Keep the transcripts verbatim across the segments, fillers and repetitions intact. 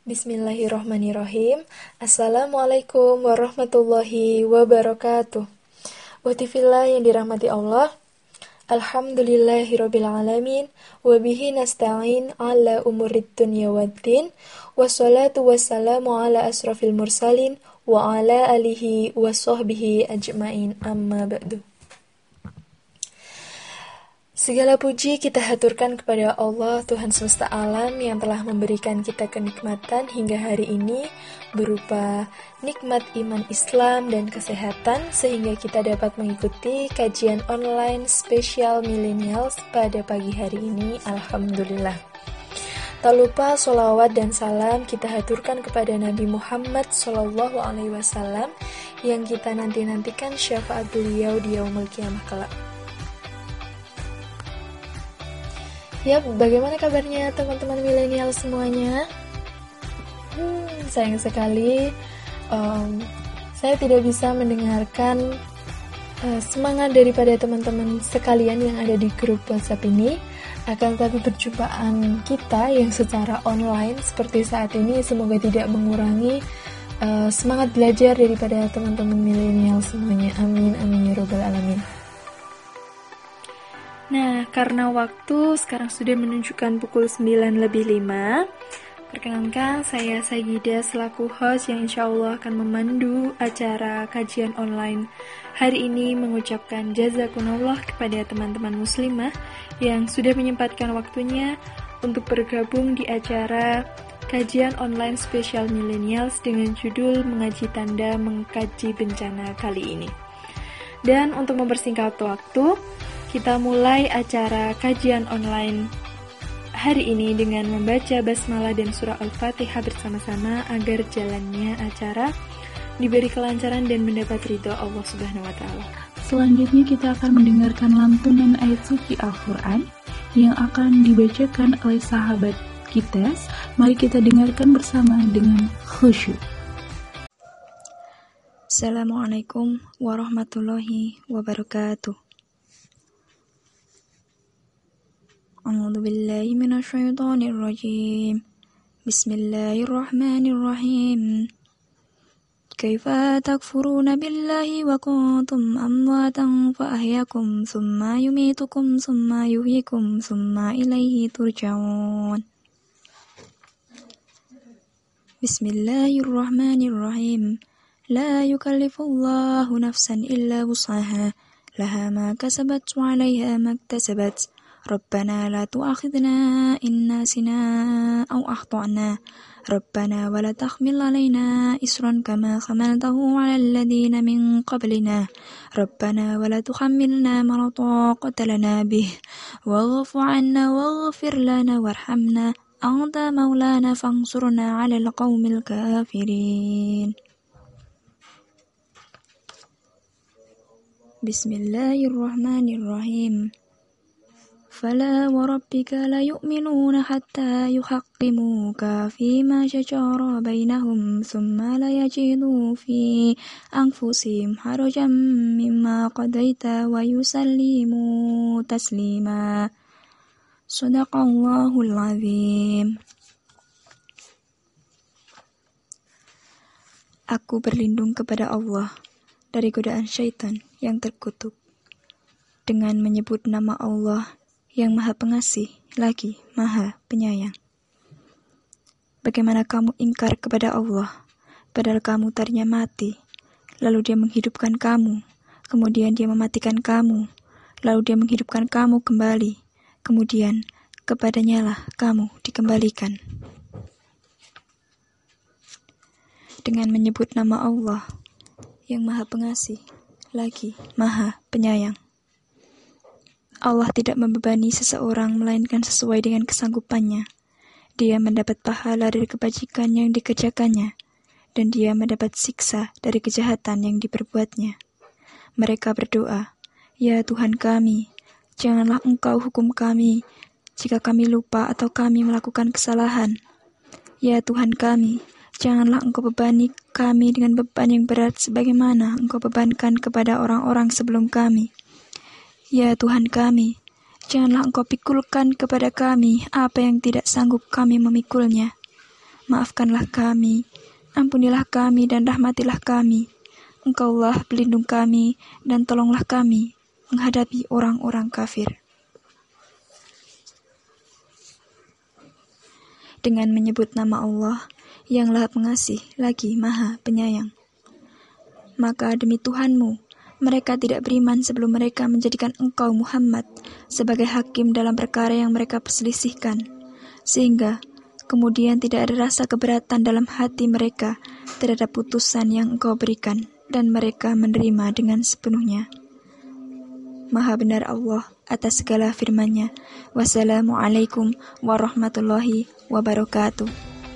Bismillahirrahmanirrahim. Assalamualaikum warahmatullahi wabarakatuh. Watifillah yang dirahmati Allah. Alhamdulillahirabbil alamin wa bihi nasta'in ala umurid dunya waddin. Wassalatu wassalamu ala asrafil mursalin wa ala alihi wa sahbihi ajmain. Amma ba'du. Segala puji kita haturkan kepada Allah, Tuhan semesta alam yang telah memberikan kita kenikmatan hingga hari ini berupa nikmat iman Islam dan kesehatan sehingga kita dapat mengikuti kajian online spesial millennials pada pagi hari ini. Alhamdulillah. Tak lupa sholawat dan salam kita haturkan kepada Nabi Muhammad shallallahu alaihi wasallam yang kita nanti-nantikan syafaat beliau di yaumul qiyamah kelak. Ya, bagaimana kabarnya teman-teman milenial semuanya? Hmm, sayang sekali um, saya tidak bisa mendengarkan uh, semangat daripada teman-teman sekalian yang ada di grup WhatsApp ini. Akan tetapi perjumpaan kita yang secara online seperti saat ini semoga tidak mengurangi uh, semangat belajar daripada teman-teman milenial semuanya. Amin, amin, ya robbal alamin. Nah, karena waktu sekarang sudah menunjukkan pukul sembilan lebih lima, perkenankan saya Sayyida selaku host yang insya Allah akan memandu acara kajian online hari ini mengucapkan jazakumullah kepada teman-teman muslimah yang sudah menyempatkan waktunya untuk bergabung di acara kajian online spesial millennials dengan judul Mengaji Tanda Mengkaji Bencana kali ini. Dan untuk mempersingkat waktu, kita mulai acara kajian online hari ini dengan membaca basmalah dan surah Al-Fatihah bersama-sama agar jalannya acara diberi kelancaran dan mendapat ridho Allah Subhanahu wa taala. Selanjutnya kita akan mendengarkan lantunan ayat suci Al-Qur'an yang akan dibacakan oleh sahabat kita. Mari kita dengarkan bersama dengan khusyuk. Assalamualaikum warahmatullahi wabarakatuh. A'udzu billahi minasyaitonir rajim. Bismillahirrahmanirrahim. Kaifa takfuruna billahi wa kuntum amwatan fa ahyakum thumma yumitukum thumma yuhyikum thumma ilaihi turja'un. Bismillahirrahmanirrahim. La yukallifullahu nafsan illa wus'aha. Laha ma kasabat wa 'alaiha ma iktasabat. ربنا لا تؤاخذنا إن نسينا أو أخطأنا ربنا ولا تحمل علينا إصرا كما حملته على الذين من قبلنا ربنا ولا تحملنا ما لا طاقة لنا به واعف عنا واغفر لنا وارحمنا أنت مولانا فانصرنا على القوم الكافرين. بسم الله الرحمن الرحيم. فلا وربك لا يؤمنون حتى يحكموك فيما شجر بينهم ثم لا يجدوا في أنفسهم حرجا مما قضيت ويسلموا تسليما. صدق الله العظيم. Aku berlindung kepada Allah dari godaan syaitan yang terkutuk dengan menyebut nama Allah yang Maha Pengasih lagi Maha Penyayang. Bagaimana kamu ingkar kepada Allah, padahal kamu tadinya mati, lalu Dia menghidupkan kamu, kemudian Dia mematikan kamu, lalu Dia menghidupkan kamu kembali, kemudian kepadanya lah kamu dikembalikan. Dengan menyebut nama Allah yang Maha Pengasih lagi Maha Penyayang. Allah tidak membebani seseorang melainkan sesuai dengan kesanggupannya. Dia mendapat pahala dari kebajikan yang dikerjakannya, dan dia mendapat siksa dari kejahatan yang diperbuatnya. Mereka berdoa, Ya Tuhan kami, janganlah Engkau hukum kami jika kami lupa atau kami melakukan kesalahan. Ya Tuhan kami, janganlah Engkau bebani kami dengan beban yang berat sebagaimana Engkau bebankan kepada orang-orang sebelum kami. Ya Tuhan kami, janganlah Engkau pikulkan kepada kami apa yang tidak sanggup kami memikulnya. maafkanlah kami, ampunilah kami dan rahmatilah kami. Engkaulah pelindung kami dan tolonglah kami menghadapi orang-orang kafir. Dengan menyebut nama Allah yang Maha Pengasih lagi Maha Penyayang. Maka demi Tuhanmu, mereka tidak beriman sebelum mereka menjadikan engkau Muhammad sebagai hakim dalam perkara yang mereka perselisihkan, sehingga kemudian tidak ada rasa keberatan dalam hati mereka terhadap putusan yang engkau berikan, dan mereka menerima dengan sepenuhnya. Maha benar Allah atas segala firman-Nya. Wassalamualaikum warahmatullahi wabarakatuh.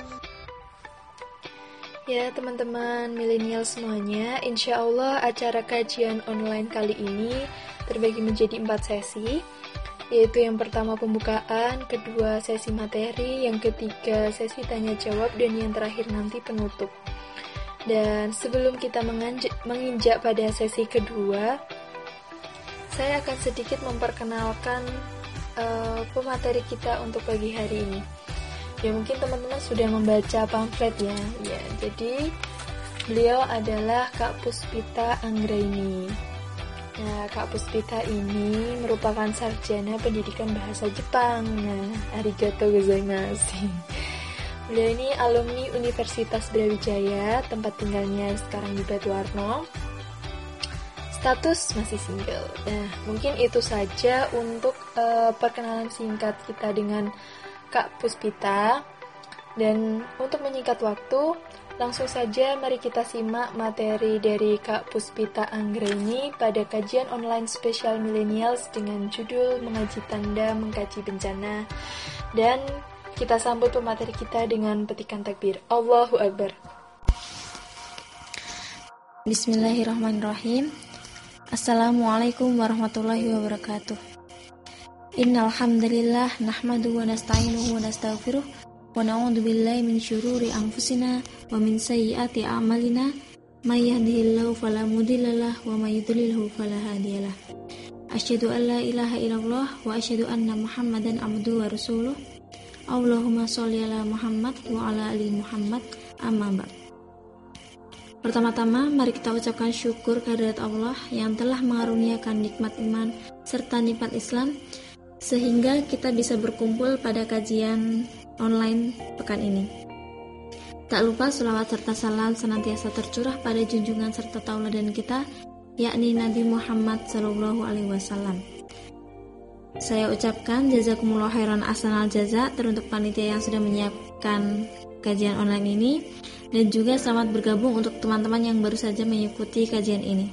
Ya teman-teman milenial semuanya, insya Allah acara kajian online kali ini terbagi menjadi empat sesi, yaitu yang pertama pembukaan, kedua sesi materi, yang ketiga sesi tanya jawab, dan yang terakhir nanti penutup. Dan sebelum kita menginjak, menginjak pada sesi kedua, saya akan sedikit memperkenalkan uh, pemateri kita untuk pagi hari ini. Ya mungkin teman-teman sudah membaca pamflet ya. Ya, jadi beliau adalah Kak Puspita Anggraini. Nah, Kak Puspita ini merupakan sarjana pendidikan bahasa Jepang. Nah, arigatou gozaimasu. Beliau ini alumni Universitas Brawijaya, tempat tinggalnya sekarang di Batuwarno. Status masih single. Nah, mungkin itu saja untuk uh, perkenalan singkat kita dengan Kak Puspita. Dan untuk menyingkat waktu, langsung saja mari kita simak materi dari Kak Puspita Anggraini pada kajian online spesial millennials dengan judul Mengaji Tanda Mengkaji Bencana. Dan kita sambut pemateri kita dengan petikan takbir. Allahu Akbar. Bismillahirrahmanirrahim. Assalamualaikum warahmatullahi wabarakatuh. Innal hamdalillah nahmaduhu wa nasta'inuhu wa nastaghfiruh wa na'udzu billahi min syururi anfusina wa min sayyiati a'malina may yahdihillahu fala mudhillalah wa may yudhlilhu fala hadiyalah. Asyhadu an la ilaha illallah wa asyhadu anna Muhammadan abduhu wa rasuluh. Allahumma sholli ala Muhammad wa ala ali Muhammad, amma ba'd. Pertama-tama mari kita ucapkan syukur kehadirat Allah yang telah mengaruniakan nikmat iman serta nikmat Islam sehingga kita bisa berkumpul pada kajian online pekan ini. Tak lupa sholawat serta salam senantiasa tercurah pada junjungan serta tauladan kita, yakni Nabi Muhammad sallallahu alaihi wasallam. Saya ucapkan jazakumullah khairan ahsanal jaza teruntuk panitia yang sudah menyiapkan kajian online ini, dan juga selamat bergabung untuk teman-teman yang baru saja mengikuti kajian ini.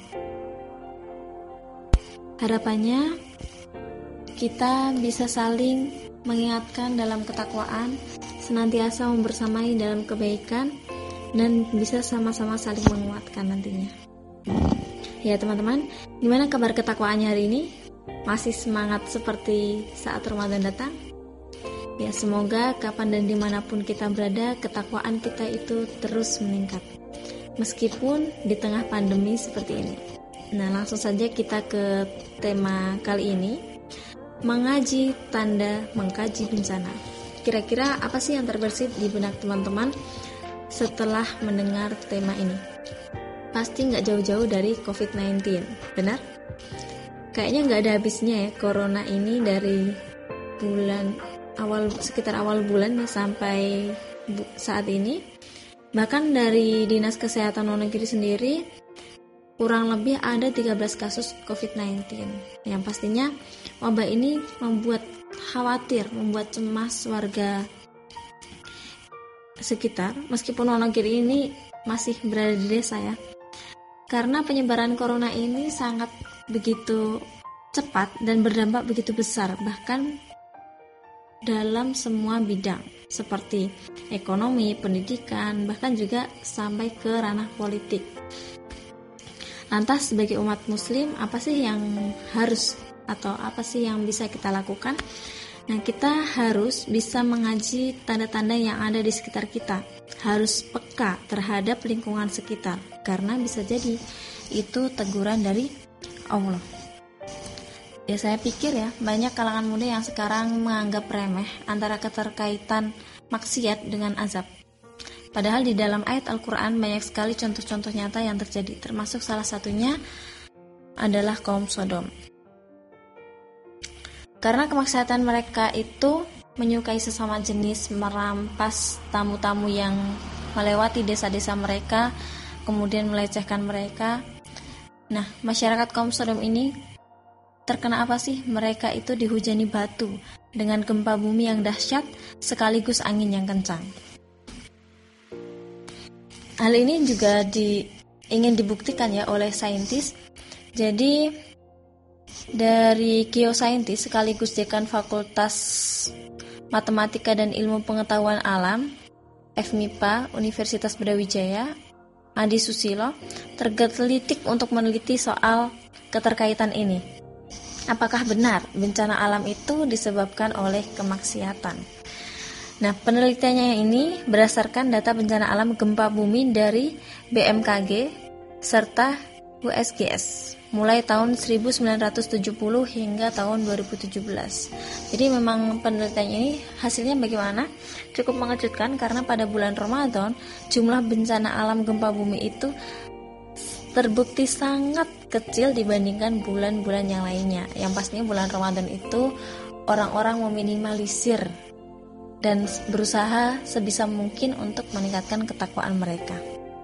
Harapannya kita bisa saling mengingatkan dalam ketakwaan, senantiasa membersamai dalam kebaikan, dan bisa sama-sama saling menguatkan nantinya. Ya teman-teman, gimana kabar ketakwaannya hari ini? Masih semangat seperti saat Ramadan datang? Ya, semoga kapan dan dimanapun kita berada, ketakwaan kita itu terus meningkat, meskipun di tengah pandemi seperti ini. Nah, langsung saja kita ke tema kali ini, mengaji tanda mengkaji bencana. Kira-kira apa sih yang terbersit di benak teman-teman setelah mendengar tema ini? Pasti nggak jauh-jauh dari covid sembilan belas, benar? Kayaknya nggak ada habisnya ya corona ini, dari bulan awal, sekitar awal bulan ya, sampai bu, saat ini. Bahkan dari Dinas Kesehatan luar negeri sendiri kurang lebih ada tiga belas kasus covid sembilan belas. Yang pastinya wabah ini membuat khawatir, membuat cemas warga sekitar, meskipun luar negeri ini masih berada di desa ya. Karena penyebaran corona ini sangat begitu cepat dan berdampak begitu besar, bahkan dalam semua bidang seperti ekonomi, pendidikan, bahkan juga sampai ke ranah politik. Lantas sebagai umat muslim, apa sih yang harus atau apa sih yang bisa kita lakukan? Nah, kita harus bisa mengaji tanda-tanda yang ada di sekitar kita, harus peka terhadap lingkungan sekitar, karena bisa jadi itu teguran dari Allah. Ya, saya pikir ya, banyak kalangan muda yang sekarang menganggap remeh antara keterkaitan maksiat dengan azab. Padahal di dalam ayat Al-Quran banyak sekali contoh-contoh nyata yang terjadi, termasuk salah satunya adalah kaum Sodom. Karena kemaksiatan mereka itu menyukai sesama jenis, merampas tamu-tamu yang melewati desa-desa mereka, kemudian melecehkan mereka. Nah, masyarakat kaum Sodom ini terkena apa sih? Mereka itu dihujani batu dengan gempa bumi yang dahsyat sekaligus angin yang kencang. Hal ini juga di, ingin dibuktikan ya oleh saintis. Jadi dari geosaintis sekaligus dekan Fakultas Matematika dan Ilmu Pengetahuan Alam F M I P A Universitas Brawijaya, Adi Susilo, tergelitik untuk meneliti soal keterkaitan ini. Apakah benar bencana alam itu disebabkan oleh kemaksiatan? Nah, penelitiannya ini berdasarkan data bencana alam gempa bumi dari B M K G serta U S G S mulai tahun seribu sembilan ratus tujuh puluh hingga tahun dua ribu tujuh belas. Jadi memang penelitian ini hasilnya bagaimana? Cukup mengejutkan karena pada bulan Ramadan jumlah bencana alam gempa bumi itu terbukti sangat kecil dibandingkan bulan-bulan yang lainnya. Yang pastinya bulan Ramadan itu orang-orang meminimalisir dan berusaha sebisa mungkin untuk meningkatkan ketakwaan mereka.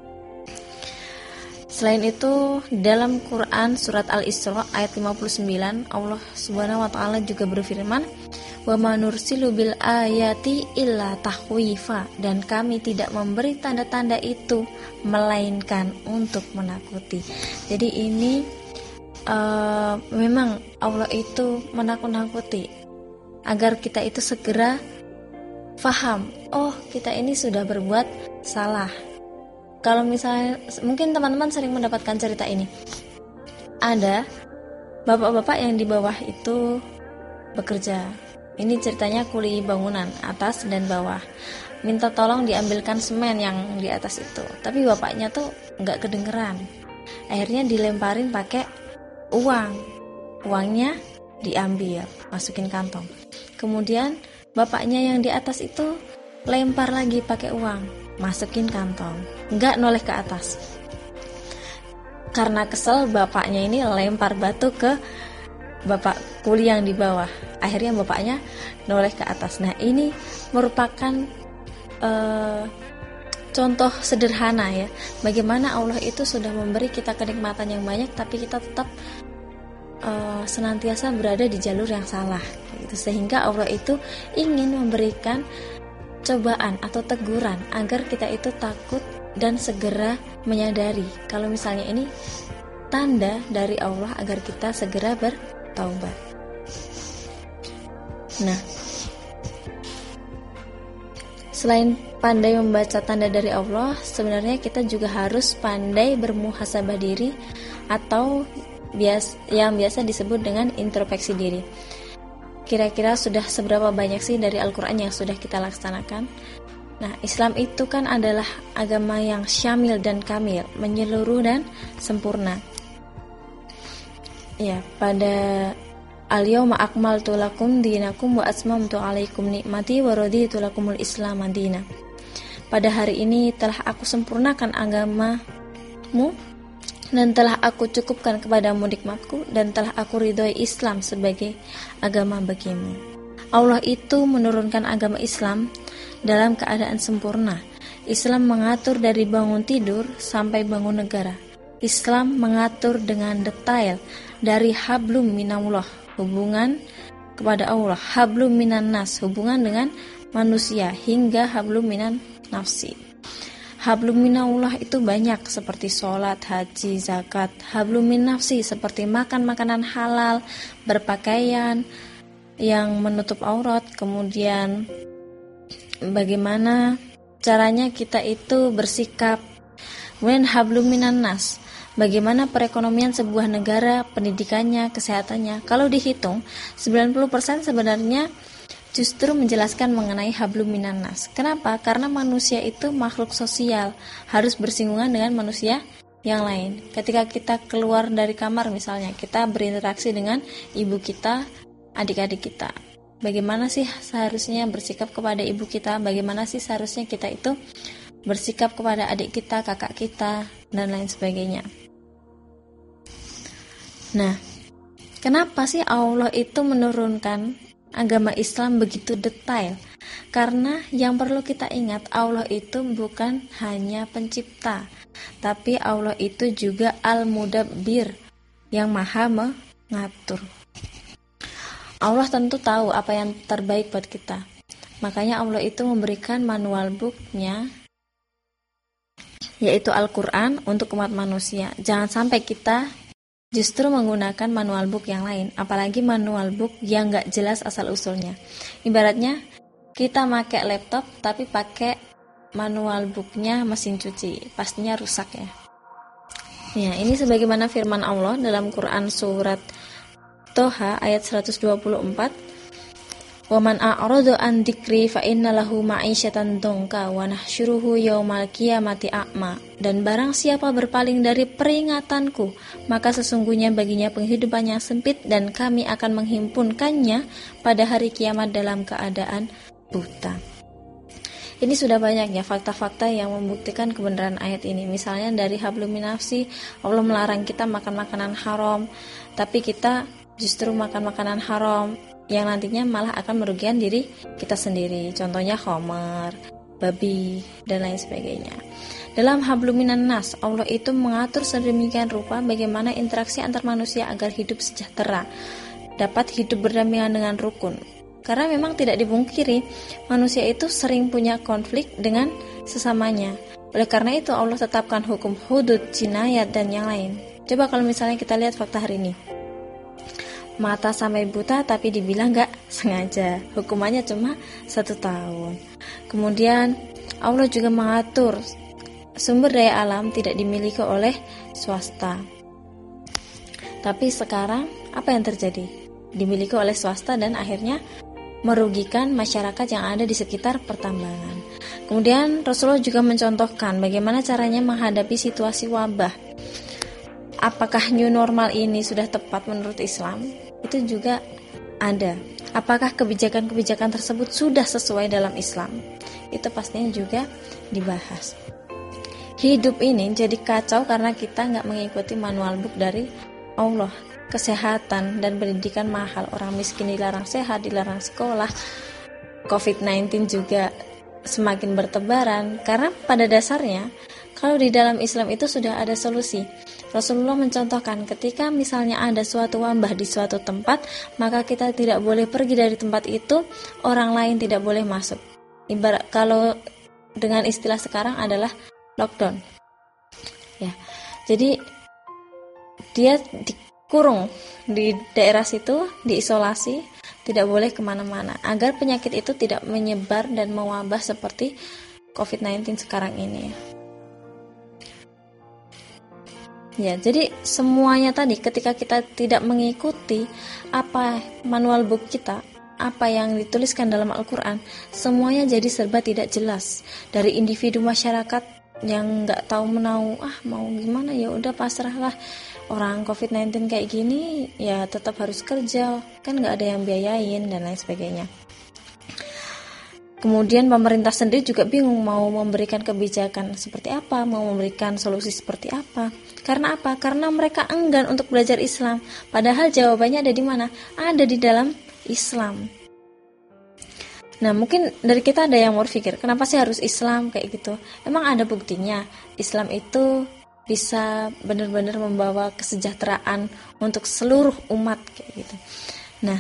Selain itu, dalam Quran surat Al-Isra ayat lima puluh sembilan, Allah Subhanahu wa taala juga berfirman, "Wa ma nursilu bil ayati illa tahwifa," dan kami tidak memberi tanda-tanda itu melainkan untuk menakuti. Jadi ini uh, memang Allah itu menakut-nakuti agar kita itu segera faham, oh kita ini sudah berbuat salah. Kalau misalnya, mungkin teman-teman sering mendapatkan cerita ini. Ada bapak-bapak yang di bawah itu bekerja. Ini ceritanya kuli bangunan, atas dan bawah. Minta tolong diambilkan semen yang di atas itu. Tapi bapaknya tuh nggak kedengeran. Akhirnya dilemparin pakai uang. Uangnya diambil, masukin kantong. Kemudian bapaknya yang di atas itu lempar lagi pakai uang, masukin kantong, nggak noleh ke atas. Karena kesel, bapaknya ini lempar batu ke bapak kuli yang di bawah. Akhirnya bapaknya noleh ke atas. Nah, ini merupakan uh, contoh sederhana ya, bagaimana Allah itu sudah memberi kita kenikmatan yang banyak, tapi kita tetap uh, senantiasa berada di jalur yang salah. Sehingga Allah itu ingin memberikan cobaan atau teguran agar kita itu takut dan segera menyadari kalau misalnya ini tanda dari Allah agar kita segera bertaubat. Nah, selain pandai membaca tanda dari Allah, sebenarnya kita juga harus pandai bermuhasabah diri atau bias, yang biasa disebut dengan introspeksi diri. Kira-kira sudah seberapa banyak sih dari Al-Quran yang sudah kita laksanakan? Nah, Islam itu kan adalah agama yang syamil dan kamil, menyeluruh dan sempurna. Ya, pada al-yawma akmaltu lakum dinakum wa atmamtu alaikum nikmati wa raditu lakumul Islam madina. Pada hari ini telah aku sempurnakan agamamu dan telah aku cukupkan kepadamu nikmatku, dan telah aku ridhoi Islam sebagai agama bagimu. Allah itu menurunkan agama Islam dalam keadaan sempurna. Islam mengatur dari bangun tidur sampai bangun negara. Islam mengatur dengan detail dari hablum minallah, hubungan kepada Allah, hablum minan nas, hubungan dengan manusia, hingga hablum minan nafsi. Hablum minallah itu banyak seperti sholat, haji, zakat. Hablum min nafsi seperti makan makanan halal, berpakaian yang menutup aurat, kemudian bagaimana caranya kita itu bersikap. Kemudian hablum minan nas, bagaimana perekonomian sebuah negara, pendidikannya, kesehatannya. Kalau dihitung, sembilan puluh persen sebenarnya justru menjelaskan mengenai hablum minan nas. Kenapa? Karena manusia itu makhluk sosial, harus bersinggungan dengan manusia yang lain. Ketika kita keluar dari kamar misalnya, kita berinteraksi dengan ibu kita, adik-adik kita. Bagaimana sih seharusnya bersikap kepada ibu kita? Bagaimana sih seharusnya kita itu bersikap kepada adik kita, kakak kita, dan lain sebagainya. Nah, kenapa sih Allah itu menurunkan agama Islam begitu detail? Karena yang perlu kita ingat, Allah itu bukan hanya pencipta, tapi Allah itu juga Al-Mudabbir, yang maha mengatur. Allah tentu tahu apa yang terbaik buat kita. Makanya Allah itu memberikan manual book-nya, yaitu Al-Quran, untuk umat manusia. Jangan sampai kita justru menggunakan manual book yang lain, apalagi manual book yang gak jelas asal-usulnya. Ibaratnya kita pakai laptop tapi pakai manual booknya mesin cuci, pastinya rusak ya. Ya, ini sebagaimana firman Allah dalam Quran surat Toha ayat seratus dua puluh empat, "Waman a'radu an dzikri fa innalahu ma'isyatan dongka wa nahsyuruhu yaumal qiyamati a'ma." Dan barang siapa berpaling dari peringatanku, maka sesungguhnya baginya penghidupan yang sempit, dan kami akan menghimpunkannya pada hari kiamat dalam keadaan buta. Ini sudah banyak ya fakta-fakta yang membuktikan kebenaran ayat ini. Misalnya dari hablum minafsi, Allah melarang kita makan makanan haram, tapi kita justru makan makanan haram yang nantinya malah akan merugikan diri kita sendiri. Contohnya khamar, babi, dan lain sebagainya. Dalam hablum minan nas, Allah itu mengatur sedemikian rupa bagaimana interaksi antar manusia agar hidup sejahtera, dapat hidup berdampingan dengan rukun. Karena memang tidak dipungkiri, manusia itu sering punya konflik dengan sesamanya. Oleh karena itu Allah tetapkan hukum hudud, jinayat, dan yang lain. Coba kalau misalnya kita lihat fakta hari ini, mata sampai buta tapi dibilang gak sengaja, hukumannya cuma satu tahun. Kemudian Allah juga mengatur sumber daya alam tidak dimiliki oleh swasta, tapi sekarang apa yang terjadi? Dimiliki oleh swasta dan akhirnya merugikan masyarakat yang ada di sekitar pertambangan. Kemudian Rasulullah juga mencontohkan bagaimana caranya menghadapi situasi wabah. Apakah new normal ini sudah tepat menurut Islam? Itu juga ada. Apakah kebijakan-kebijakan tersebut sudah sesuai dalam Islam? Itu pastinya juga dibahas. Hidup ini jadi kacau karena kita nggak mengikuti manual book dari Allah. Kesehatan dan pendidikan mahal, orang miskin dilarang sehat, dilarang sekolah, covid sembilan belas juga semakin bertebaran. Karena pada dasarnya kalau di dalam Islam itu sudah ada solusi. Rasulullah mencontohkan ketika misalnya ada suatu wabah di suatu tempat, maka kita tidak boleh pergi dari tempat itu, orang lain tidak boleh masuk. Ibarat kalau dengan istilah sekarang adalah lockdown. Ya. Jadi dia di kurung di daerah situ, diisolasi, tidak boleh kemana-mana, agar penyakit itu tidak menyebar dan mewabah seperti covid sembilan belas sekarang ini. Ya, jadi semuanya tadi ketika kita tidak mengikuti apa manual book kita, apa yang dituliskan dalam Al-Quran, semuanya jadi serba tidak jelas. Dari individu masyarakat yang nggak tahu menau, ah mau gimana ya udah pasrahlah. Orang covid sembilan belas kayak gini ya tetap harus kerja, kan nggak ada yang biayain dan lain sebagainya. Kemudian pemerintah sendiri juga bingung mau memberikan kebijakan seperti apa, mau memberikan solusi seperti apa. Karena apa? Karena mereka enggan untuk belajar Islam. Padahal jawabannya ada di mana? Ada di dalam Islam. Nah, mungkin dari kita ada yang mau berpikir, kenapa sih harus Islam kayak gitu? Emang ada buktinya Islam itu bisa benar-benar membawa kesejahteraan untuk seluruh umat kayak gitu. Nah,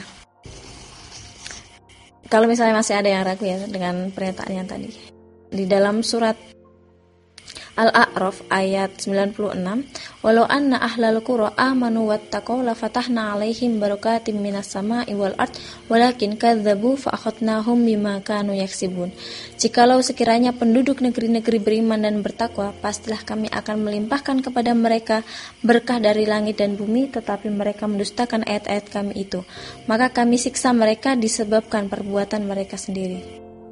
kalau misalnya masih ada yang ragu ya dengan pernyataan yang tadi, di dalam surat Al-A'raf ayat sembilan puluh enam, walau anna ahlal qura amanu wattaqaw la fatahna 'alaihim barakatim minas sama'i wal ard walakin kadzdzabu fa akhadnahum bima kanu yaksibun. Jikalau sekiranya penduduk negeri-negeri beriman dan bertakwa, pastilah kami akan melimpahkan kepada mereka berkah dari langit dan bumi, tetapi mereka mendustakan ayat-ayat kami itu. Maka kami siksa mereka disebabkan perbuatan mereka sendiri.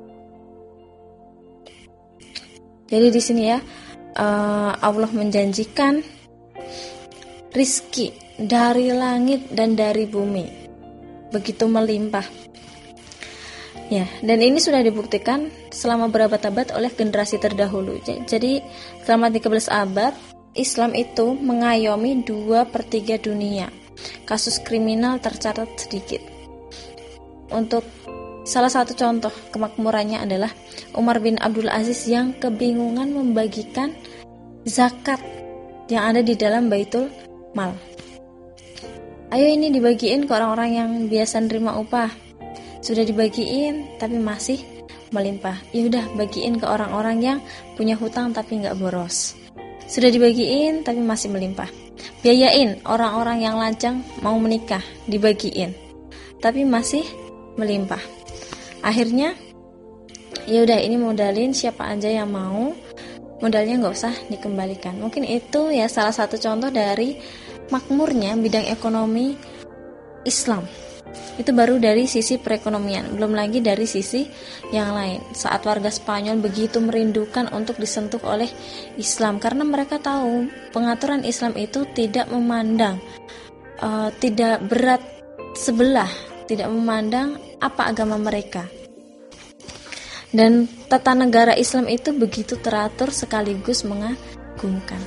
Jadi di sini ya, Uh, Allah menjanjikan rizki dari langit dan dari bumi begitu melimpah. Ya, dan ini sudah dibuktikan selama berabad-abad oleh generasi terdahulu. Jadi selama tiga belas abad, Islam itu mengayomi dua per tiga dunia. Kasus kriminal tercatat sedikit. Untuk salah satu contoh kemakmurannya adalah Umar bin Abdul Aziz yang kebingungan membagikan zakat yang ada di dalam Baitul Mal. Ayo ini dibagiin ke orang-orang yang biasa nerima upah. Sudah dibagiin tapi masih melimpah. Ya udah, bagiin ke orang-orang yang punya hutang tapi nggak boros. Sudah dibagiin tapi masih melimpah. Biayain orang-orang yang lajang mau menikah, dibagiin tapi masih melimpah. Akhirnya ya udah, ini modalin siapa aja yang mau, modalnya nggak usah dikembalikan. Mungkin itu ya salah satu contoh dari makmurnya bidang ekonomi Islam. Itu baru dari sisi perekonomian, belum lagi dari sisi yang lain. Saat warga Spanyol begitu merindukan untuk disentuh oleh Islam, karena mereka tahu pengaturan Islam itu tidak memandang, uh, tidak berat sebelah, tidak memandang apa agama mereka. Dan tata negara Islam itu begitu teratur sekaligus mengagumkan.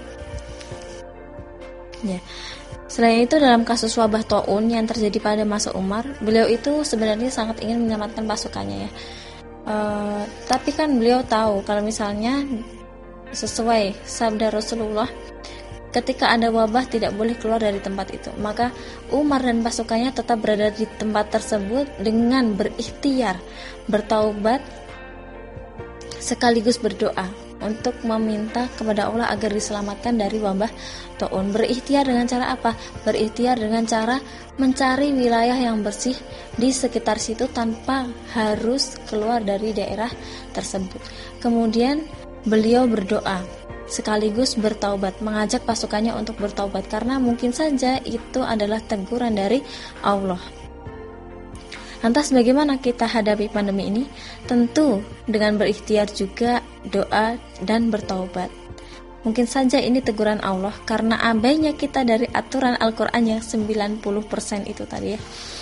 Ya. Selain itu, dalam kasus wabah taun yang terjadi pada masa Umar, beliau itu sebenarnya sangat ingin menyelamatkan pasukannya ya. Uh, tapi kan beliau tahu kalau misalnya sesuai sabda Rasulullah, ketika ada wabah tidak boleh keluar dari tempat itu. Maka Umar dan pasukannya tetap berada di tempat tersebut dengan berikhtiar, bertaubat, sekaligus berdoa untuk meminta kepada Allah agar diselamatkan dari wabah taun. Berikhtiar dengan cara apa? Berikhtiar dengan cara mencari wilayah yang bersih di sekitar situ tanpa harus keluar dari daerah tersebut. Kemudian beliau berdoa sekaligus bertaubat, mengajak pasukannya untuk bertaubat karena mungkin saja itu adalah teguran dari Allah. Lantas bagaimana kita hadapi pandemi ini? Tentu dengan berikhtiar juga, doa, dan bertaubat. Mungkin saja ini teguran Allah karena abainya kita dari aturan Al-Quran yang sembilan puluh persen itu tadi ya.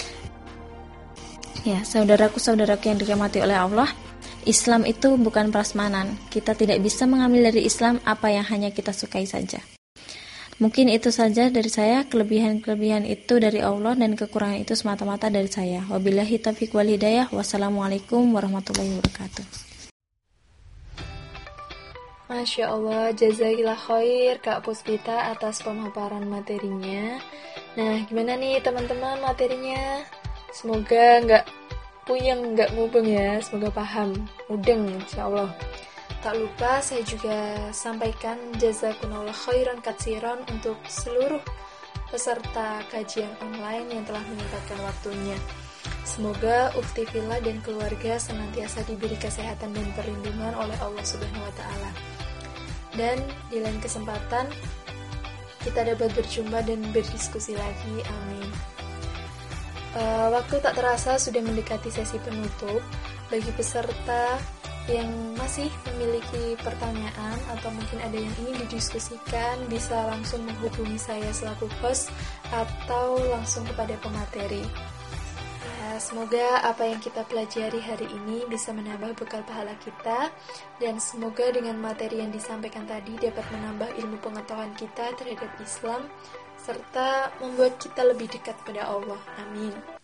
Ya, saudaraku-saudaraku yang dirahmati oleh Allah, Islam itu bukan prasmanan. Kita tidak bisa mengambil dari Islam apa yang hanya kita sukai saja. Mungkin itu saja dari saya, kelebihan-kelebihan itu dari Allah dan kekurangan itu semata-mata dari saya. Wabillahi taufiq wal hidayah. Wassalamualaikum warahmatullahi wabarakatuh. Masya Allah, jazakillah khair Kak Puspita atas pemaparan materinya. Nah, gimana nih teman-teman materinya? Semoga nggak puyeng, nggak mubeng ya. Semoga paham, mudeng insya Allah. Tak lupa saya juga sampaikan jazakumullah khairan katsiran untuk seluruh peserta kajian online yang telah menyempatkan waktunya. Semoga Ufti Villa dan keluarga senantiasa diberi kesehatan dan perlindungan oleh Allah Subhanahu wa taala. Dan di lain kesempatan kita dapat berjumpa dan berdiskusi lagi. Amin. Uh, waktu tak terasa sudah mendekati sesi penutup. Bagi peserta yang masih memiliki pertanyaan atau mungkin ada yang ingin didiskusikan, bisa langsung menghubungi saya selaku host atau langsung kepada pemateri. Ya, semoga apa yang kita pelajari hari ini bisa menambah bekal pahala kita, dan semoga dengan materi yang disampaikan tadi dapat menambah ilmu pengetahuan kita terhadap Islam serta membuat kita lebih dekat pada Allah. Amin.